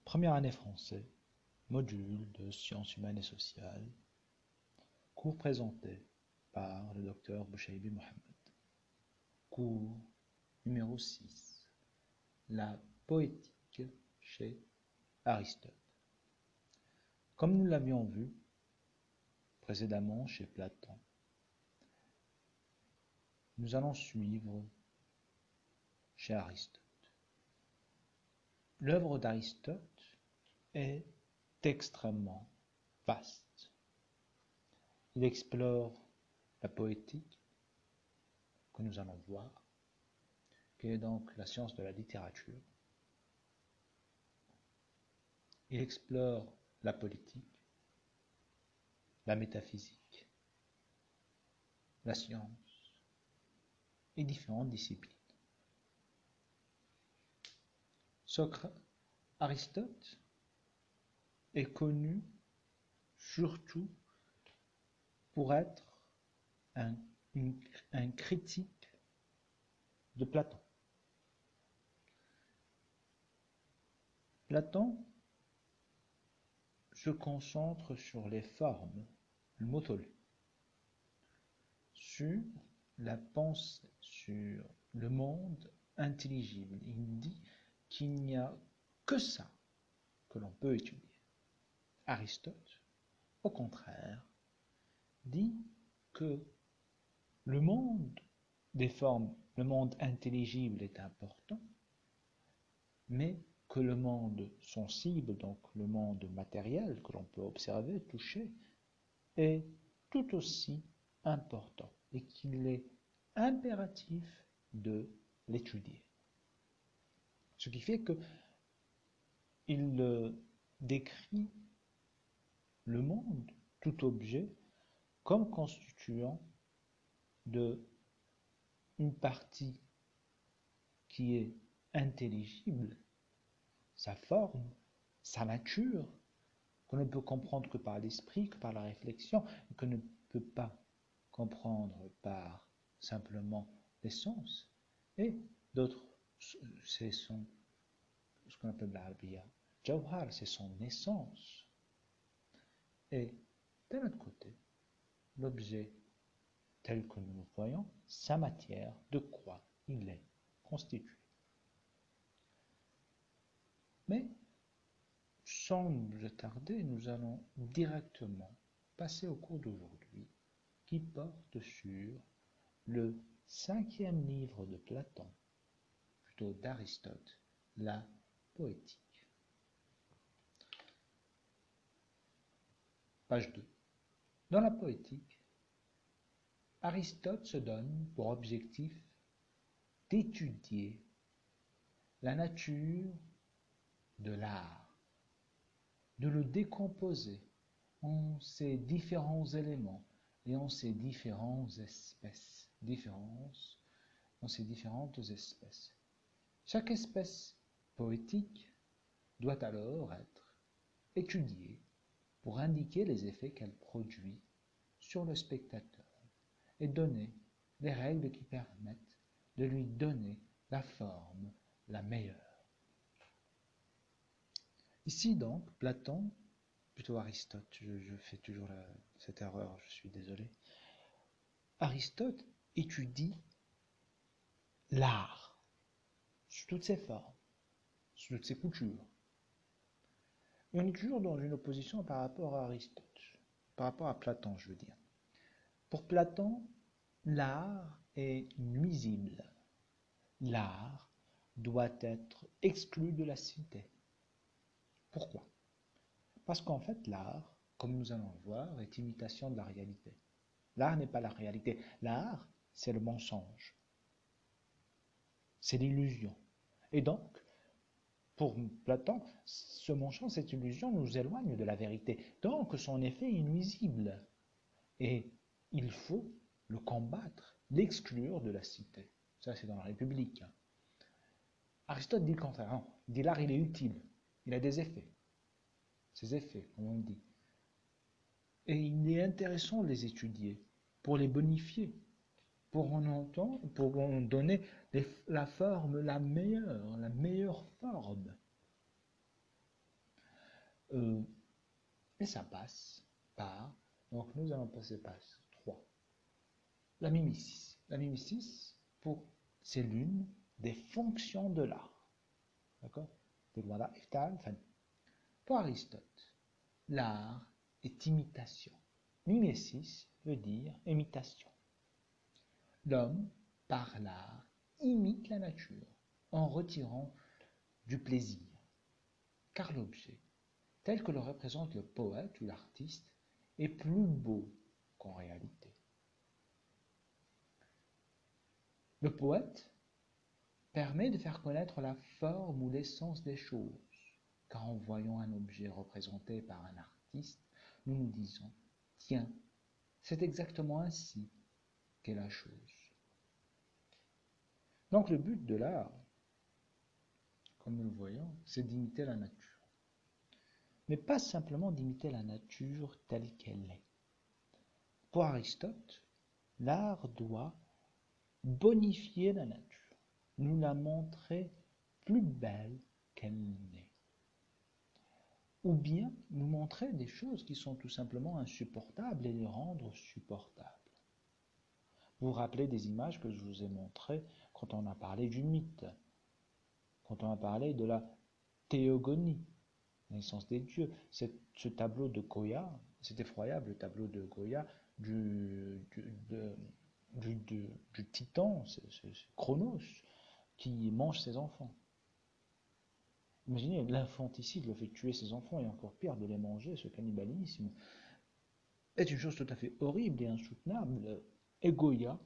Première année français, module de sciences humaines et sociales, cours présenté par le docteur Bouchaibi Mohamed. Cours numéro 6, la poétique chez Aristote. Comme nous l'avions vu précédemment chez Platon, nous allons suivre chez Aristote. L'œuvre d'Aristote est extrêmement vaste. Il explore la poétique, que nous allons voir, qui est donc la science de la littérature. Il explore la politique, la métaphysique, la science et différentes disciplines. Aristote est connu surtout pour être un critique de Platon. Platon se concentre sur les formes, le motolu, sur la pensée, sur le monde intelligible. Il dit qu'il n'y a que ça que l'on peut étudier. Aristote, au contraire, dit que le monde des formes, le monde intelligible est important, mais que le monde sensible, donc le monde matériel que l'on peut observer, toucher, est tout aussi important et qu'il est impératif de l'étudier. Ce qui fait qu'il décrit le monde, tout objet, comme constituant de une partie qui est intelligible, sa forme, sa nature, qu'on ne peut comprendre que par l'esprit, que par la réflexion, et qu'on ne peut pas comprendre par simplement les sens, et d'autres, c'est ce qu'on appelle l'Arabia Jawhar, c'est son essence. Et d'un autre côté, l'objet tel que nous le voyons, sa matière, de quoi il est constitué. Mais, sans nous attarder, nous allons directement passer au cours d'aujourd'hui, qui porte sur le 5e livre de Platon, plutôt d'Aristote, la poétique. Page 2. Dans la poétique, Aristote se donne pour objectif d'étudier la nature de l'art, de le décomposer en ses différents éléments et en ses différentes espèces. Chaque espèce poétique doit alors être étudiée pour indiquer les effets qu'elle produit sur le spectateur et donner les règles qui permettent de lui donner la forme la meilleure. Ici donc, Platon, plutôt Aristote, je fais toujours cette erreur, je suis désolé. Aristote étudie l'art sous toutes ses formes, sous toutes ses coutures. Et on est toujours dans une opposition par rapport à Aristote, par rapport à Platon, je veux dire. Pour Platon, l'art est nuisible. L'art doit être exclu de la cité. Pourquoi? Parce qu'en fait, l'art, comme nous allons le voir, est imitation de la réalité. L'art n'est pas la réalité. L'art, c'est le mensonge. C'est l'illusion. Et donc, pour Platon, ce mensonge, cette illusion nous éloigne de la vérité. Donc, son effet est nuisible. Et il faut le combattre, l'exclure de la cité. Ça, c'est dans la République. Aristote dit le contraire. Non, il dit l'art, il est utile. Il a des effets. Ses effets, comme on dit. Et il est intéressant de les étudier, pour les bonifier, pour en donner la forme la meilleure forme. Euh, et ça passe par, donc nous allons passer par 3. La mimesis. La mimesis, c'est l'une des fonctions de l'art. D'accord? Pour Aristote, l'art est imitation. Mimesis veut dire imitation. L'homme, par l'art, imite la nature en retirant du plaisir. Car l'objet, tel que le représente le poète ou l'artiste, est plus beau qu'en réalité. Le poète permet de faire connaître la forme ou l'essence des choses, car en voyant un objet représenté par un artiste, nous nous disons « Tiens, c'est exactement ainsi qu'est la chose ». Donc le but de l'art, comme nous le voyons, c'est d'imiter la nature. Mais pas simplement d'imiter la nature telle qu'elle est. Pour Aristote, l'art doit bonifier la nature, nous la montrer plus belle qu'elle n'est. Ou bien nous montrer des choses qui sont tout simplement insupportables et les rendre supportables. Vous vous rappelez des images que je vous ai montrées quand on a parlé du mythe, quand on a parlé de la théogonie, naissance des dieux. Ce tableau de Goya, c'est effroyable, le tableau de Goya du titan, c'est Chronos, qui mange ses enfants. Imaginez, l'infanticide, le fait tuer ses enfants, et encore pire, de les manger, ce cannibalisme, est une chose tout à fait horrible et insoutenable. Et Goya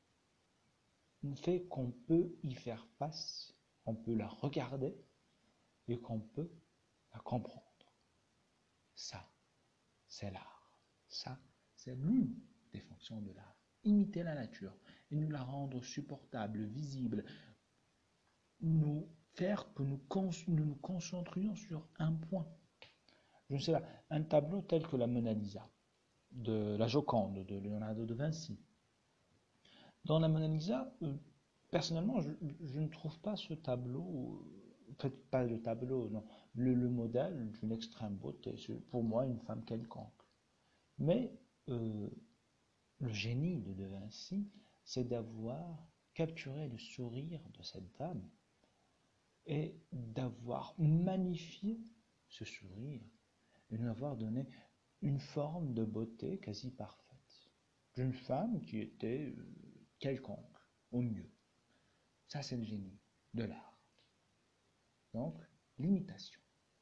fait qu'on peut y faire face, on peut la regarder, et qu'on peut la comprendre. Ça, c'est l'art. Ça, c'est l'une des fonctions de l'art. Imiter la nature et nous la rendre supportable, visible, nous faire que nous nous concentrions sur un point. Je ne sais pas, un tableau tel que la Mona Lisa, de la Joconde, de Leonardo da Vinci. Dans la Mona Lisa, personnellement, je ne trouve pas ce tableau, en fait, pas le tableau, non, le modèle d'une extrême beauté. C'est pour moi une femme quelconque. Mais le génie de Da Vinci, c'est d'avoir capturé le sourire de cette dame et d'avoir magnifié ce sourire et de lui avoir donné une forme de beauté quasi parfaite d'une femme qui était quelconque, au mieux. Ça, c'est le génie de l'art. Donc, l'imitation.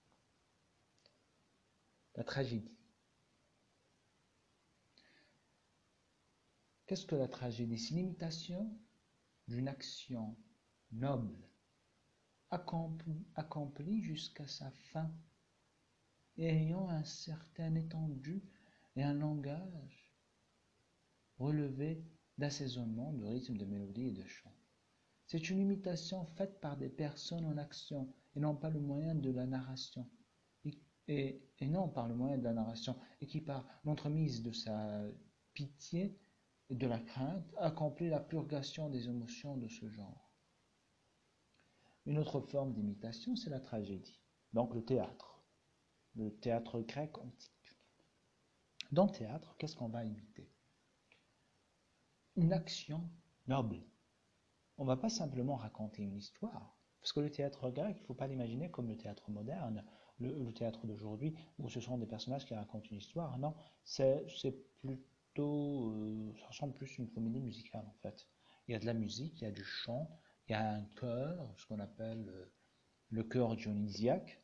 La tragédie. Qu'est-ce que la tragédie? C'est l'imitation d'une action noble, accomplie jusqu'à sa fin, et ayant un certain étendue et un langage relevé d'assaisonnement, de rythme, de mélodie et de chant. C'est une imitation faite par des personnes en action, et non par le moyen de la narration, et non par le moyen de la narration, et qui par l'entremise de sa pitié et de la crainte accomplit la purgation des émotions de ce genre. Une autre forme d'imitation, c'est la tragédie, donc le théâtre grec antique. Dans le théâtre, qu'est-ce qu'on va imiter? Une action noble. On ne va pas simplement raconter une histoire, parce que le théâtre grec, il ne faut pas l'imaginer comme le théâtre moderne, le théâtre d'aujourd'hui, où ce sont des personnages qui racontent une histoire. Non, c'est plutôt, ça ressemble plus à une comédie musicale en fait. Il y a de la musique, il y a du chant, il y a un chœur, ce qu'on appelle le chœur dionysiaque,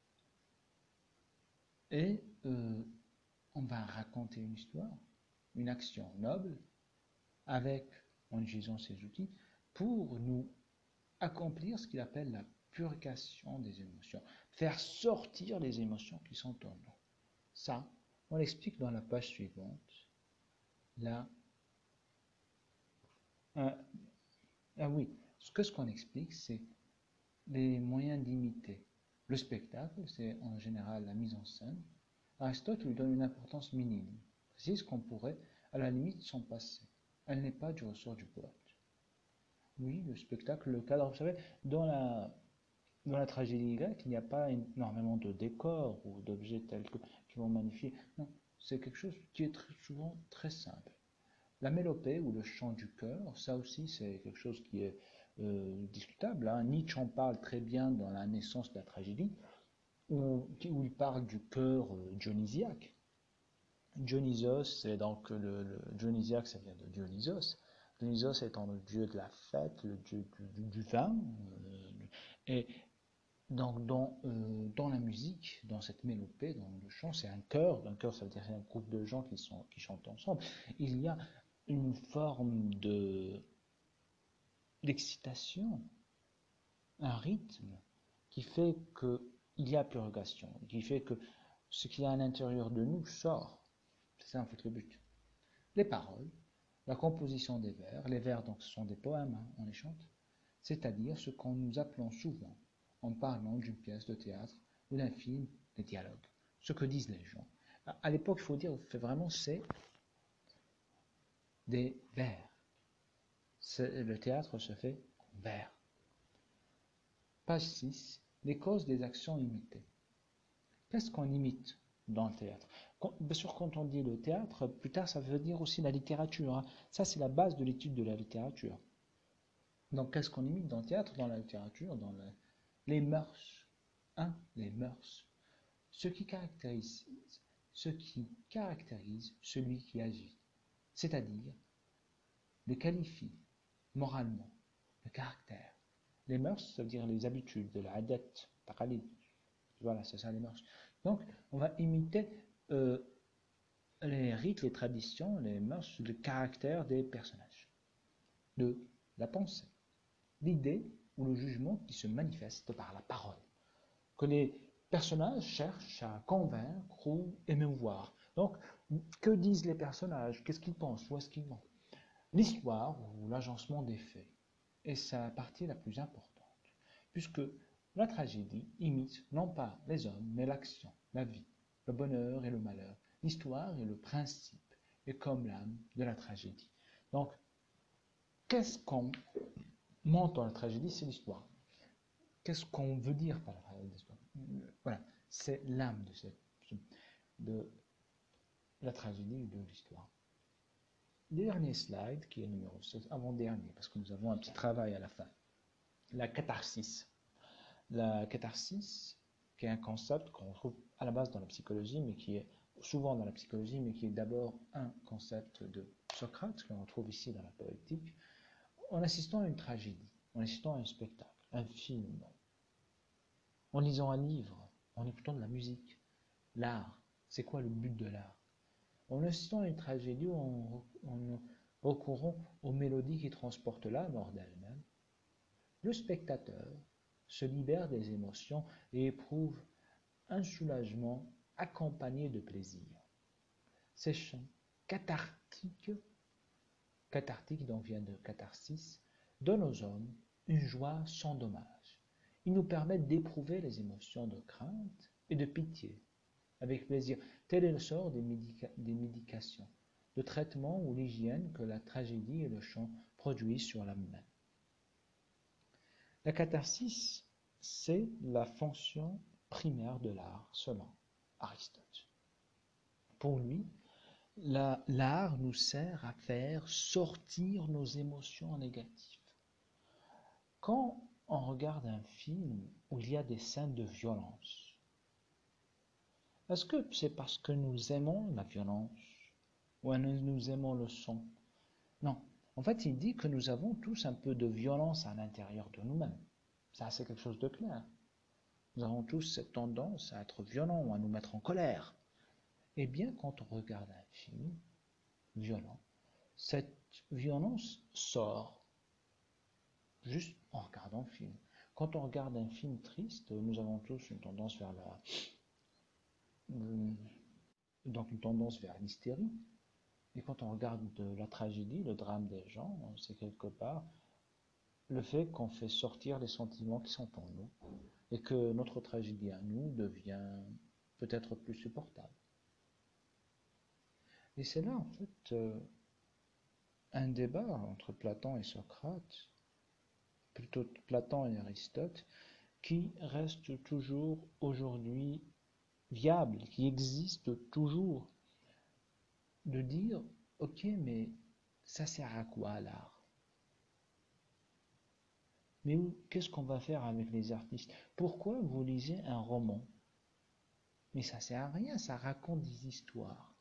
et on va raconter une histoire, une action noble, en utilisant ces outils, pour nous accomplir ce qu'il appelle la purgation des émotions, faire sortir les émotions qui sont en nous. Ça, on l'explique dans la page suivante. Là, oui, ce qu'on explique, c'est les moyens d'imiter. Le spectacle, c'est en général la mise en scène. Aristote lui donne une importance minime, précise qu'on pourrait, à la limite, s'en passer. Elle n'est pas du ressort du poète. Oui, le spectacle, le cadre, vous savez, dans dans la tragédie grecque, il n'y a pas énormément de décors ou d'objets tels que qui vont magnifier. Non, c'est quelque chose qui est très souvent très simple. La mélopée ou le chant du cœur, ça aussi c'est quelque chose qui est discutable, hein. Nietzsche en parle très bien dans La naissance de la tragédie, où il parle du cœur dionysiaque. Dionysos, c'est donc le dionysiaque, ça vient de Dionysos. Dionysos étant le dieu de la fête, le dieu du vin. Et donc dans la musique, dans cette mélopée, dans le chant, c'est un chœur. Un chœur, ça veut dire un groupe de gens qui chantent ensemble. Il y a une forme d'excitation, un rythme qui fait qu'il y a purgation, qui fait que ce qu'il y a à l'intérieur de nous sort. C'est ça en fait le but. Les paroles, la composition des vers, les vers donc ce sont des poèmes, hein, on les chante, c'est-à-dire ce qu'on nous appelons souvent, en parlant d'une pièce de théâtre ou d'un film, les dialogues, ce que disent les gens. À l'époque, il faut dire, vraiment, c'est des vers. Le théâtre se fait en vers. Page 6. Les causes des actions imitées. Qu'est-ce qu'on imite dans le théâtre? Bien sûr, quand on dit le théâtre, plus tard, ça veut dire aussi la littérature, hein. Ça, c'est la base de l'étude de la littérature. Donc, qu'est-ce qu'on imite dans le théâtre, dans la littérature, les mœurs, hein, les mœurs. Ce qui caractérise celui qui agit, c'est-à-dire le qualifie moralement, le caractère. Les mœurs, ça veut dire les habitudes, de la adat, taqalid. Voilà, c'est ça les mœurs. Donc, on va imiter les rites, les traditions, les mœurs, le caractère des personnages, de la pensée, l'idée ou le jugement qui se manifeste par la parole, que les personnages cherchent à convaincre ou émouvoir. Donc, que disent les personnages? Qu'est-ce qu'ils pensent? Où est-ce qu'ils vont? L'histoire ou l'agencement des faits est sa partie la plus importante, puisque la tragédie imite non pas les hommes, mais l'action, la vie, le bonheur et le malheur. L'histoire est le principe, et comme l'âme de la tragédie. Donc, qu'est-ce qu'on montre dans la tragédie? C'est l'histoire. Qu'est-ce qu'on veut dire par l'histoire? Voilà, c'est l'âme de la tragédie ou de l'histoire. Dernier slide, qui est numéro 7, avant-dernier, parce que nous avons un petit travail à la fin. La catharsis. La catharsis, qui est un concept qu'on trouve à la base dans la psychologie, mais qui est souvent dans la psychologie, mais qui est d'abord un concept de Socrate, qu'on retrouve ici dans la poétique, en assistant à une tragédie, en assistant à un spectacle, un film, en lisant un livre, en écoutant de la musique. L'art, c'est quoi le but de l'art? En assistant à une tragédie, en recourant aux mélodies qui transportent l'âme hors d'elle-même, le spectateur se libère des émotions et éprouve un soulagement accompagné de plaisir. Ces chants cathartiques donc vient de catharsis, donnent aux hommes une joie sans dommage. Ils nous permettent d'éprouver les émotions de crainte et de pitié avec plaisir. Tel est le sort des médications, de traitement ou l'hygiène que la tragédie et le chant produisent sur l'âme humaine. La catharsis, c'est la fonction primaire de l'art, selon Aristote. Pour lui, l'art nous sert à faire sortir nos émotions négatives. Quand on regarde un film où il y a des scènes de violence, est-ce que c'est parce que nous aimons la violence ou nous aimons le son? Non. En fait, il dit que nous avons tous un peu de violence à l'intérieur de nous-mêmes. Ça, c'est quelque chose de clair. Nous avons tous cette tendance à être violents ou à nous mettre en colère. Eh bien, quand on regarde un film violent, cette violence sort juste en regardant le film. Quand on regarde un film triste, nous avons tous une tendance vers l'hystérie. Et quand on regarde la tragédie, le drame des gens, c'est quelque part le fait qu'on fait sortir les sentiments qui sont en nous et que notre tragédie à nous devient peut-être plus supportable. Et c'est là, en fait, un débat entre Platon et Socrate, plutôt Platon et Aristote, qui reste toujours aujourd'hui viable, qui existe toujours, de dire, ok, mais ça sert à quoi l'art? Mais qu'est-ce qu'on va faire avec les artistes? Pourquoi vous lisez un roman? Mais ça sert à rien, ça raconte des histoires.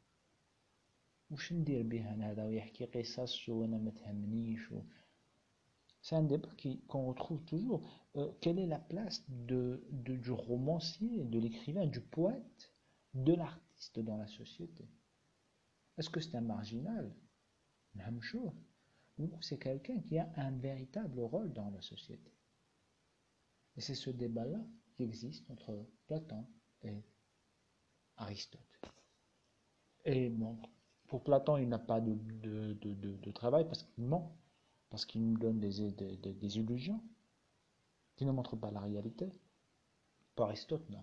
وش ندير به انا هذا ويحكي قصص وانا ما تهمنيش C'est un débat qu'on retrouve toujours. Quelle est la place du romancier, de l'écrivain, du poète, de l'artiste dans la société? Est-ce que c'est un marginal? Même chose. Ou c'est quelqu'un qui a un véritable rôle dans la société? Et c'est ce débat-là qui existe entre Platon et Aristote. Et bon, pour Platon, il n'a pas de travail parce qu'il ment, parce qu'il nous donne des illusions qui ne montrent pas la réalité. Pour Aristote, non.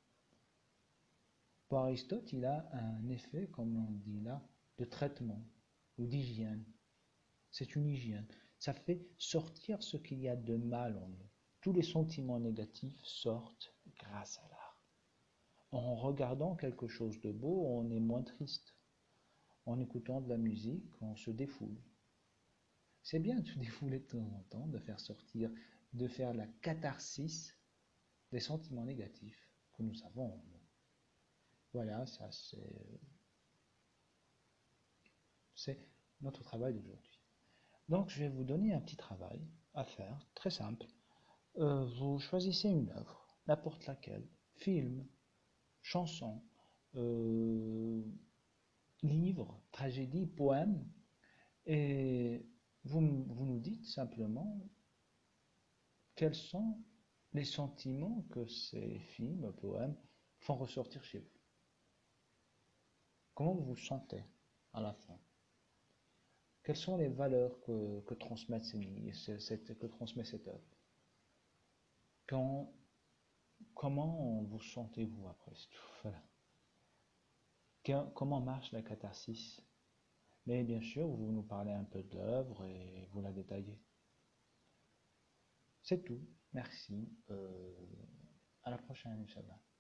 Pour Aristote, il a un effet, comme on dit là, de traitement ou d'hygiène. C'est une hygiène. Ça fait sortir ce qu'il y a de mal en nous. Tous les sentiments négatifs sortent grâce à l'art. En regardant quelque chose de beau, on est moins triste. En écoutant de la musique, on se défoule. C'est bien de se défouler de temps en temps, de faire sortir, de faire la catharsis des sentiments négatifs que nous avons en nous. Voilà, ça c'est notre travail d'aujourd'hui. Donc je vais vous donner un petit travail à faire, très simple. Vous choisissez une œuvre, n'importe laquelle, film, chanson, livre, tragédie, poème, et vous nous dites simplement quels sont les sentiments que ces films, poèmes font ressortir chez vous. Comment vous vous sentez à la fin? Quelles sont les valeurs que transmet cette œuvre? Quand, comment vous sentez-vous après tout? Voilà. Comment marche la catharsis? Mais bien sûr, vous nous parlez un peu de l'œuvre et vous la détaillez. C'est tout. Merci. À la prochaine, Inch'Allah.